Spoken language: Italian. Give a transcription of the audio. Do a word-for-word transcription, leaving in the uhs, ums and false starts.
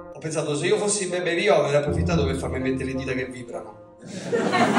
Ho pensato, se io fossi Beppe Vio avrei approfittato per farmi mettere le dita che vibrano.